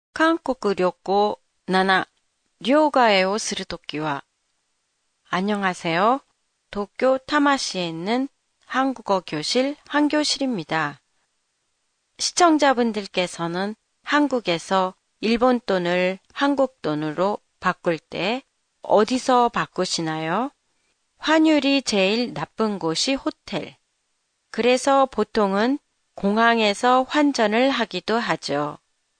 韓国旅行7、両替をするときは、안녕하세요. 도쿄 타마시에 있는 한국어 교실 한교실입니다. 시청자분들께서는 한국에서 일본 돈을 한국 돈으로 바꿀 때 어디서 바꾸시나요? 환율이 제일 나쁜 곳이 호텔. 그래서 보통은 공항에서 환전을 하기도 하죠.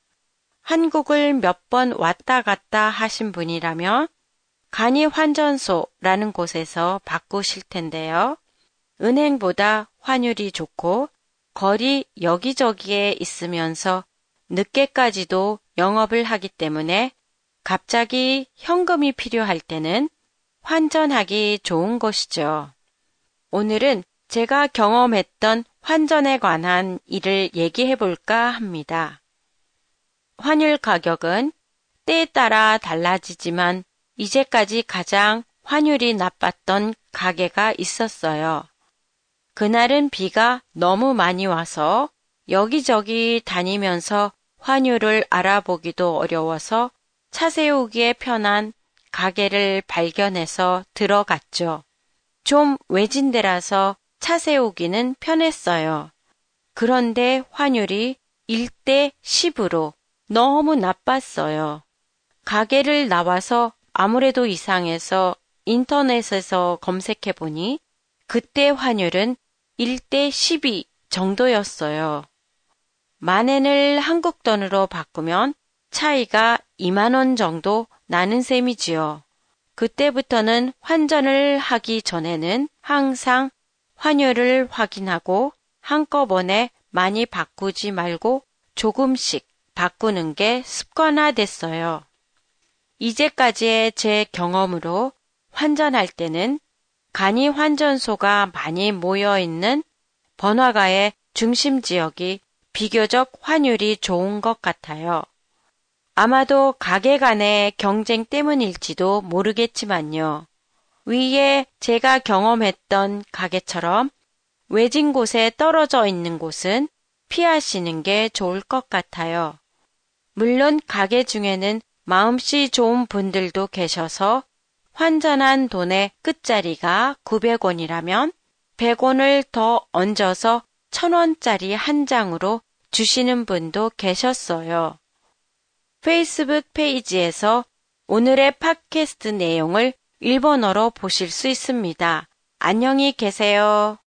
한국을 몇 번 왔다 갔다 하신 분이라면 간이 환전소라는 곳에서 바꾸실 텐데요. 은행보다 환율이 좋고 거리 여기저기에 있으면서 늦게까지도 영업을 하기 때문에 갑자기 현금이 필요할 때는 환전하기 좋은 곳이죠. 오늘은 제가 경험했던 환전에 관한 일을 얘기해 볼까 합니다. 환율 가격은 때에 따라 달라지지만 이제까지 가장 환율이 나빴던 가게가 있었어요. 그날은 비가 너무 많이 와서 여기저기 다니면서 환율을 알아보기도 어려워서 차 세우기에 편한 가게를 발견해서 들어갔죠. 좀 외진 데라서 차 세우기는 편했어요. 그런데 환율이 1대 10으로 너무 나빴어요. 가게를 나와서 아무래도 이상해서 인터넷에서 검색해보니 그때 환율은 1대 12 정도였어요. 만엔을 한국 돈으로 바꾸면 차이가 2만 원 정도 나는 셈이지요. 그때부터는 환전을 하기 전에는 항상 환율을 확인하고 한꺼번에 많이 바꾸지 말고 조금씩 바꾸는 게 습관화됐어요. 이제까지의 제 경험으로 환전할 때는 간이 환전소가 많이 모여있는 번화가의 중심 지역이 비교적 환율이 좋은 것 같아요. 아마도 가게 간의 경쟁 때문일지도 모르겠지만요. 위에 제가 경험했던 가게처럼 외진 곳에 떨어져 있는 곳은 피하시는 게 좋을 것 같아요. 물론 가게 중에는 마음씨 좋은 분들도 계셔서 환전한 돈의 끝자리가 900원이라면 100원을 더 얹어서 1000원짜리 한 장으로 주시는 분도 계셨어요. 페이스북 페이지에서 오늘의 팟캐스트 내용을 일본어로 보실 수 있습니다. 안녕히 계세요.